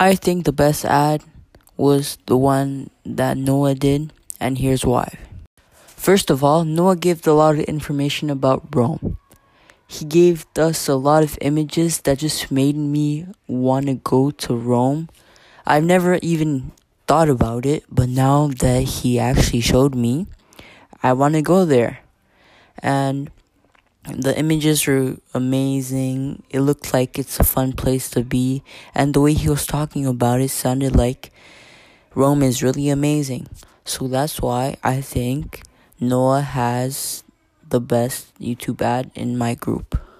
I think the best ad was the one that Noah did, and here's why. First of all, Noah gave a lot of information about Rome. He gave us a lot of images that just made me want to go to Rome. I've never even thought about it, but now that he actually showed me, I want to go there. And the images were amazing. It looked like it's a fun place to be. And the way he was talking about it sounded like Rome is really amazing. So that's why I think Noah has the best YouTube ad in my group.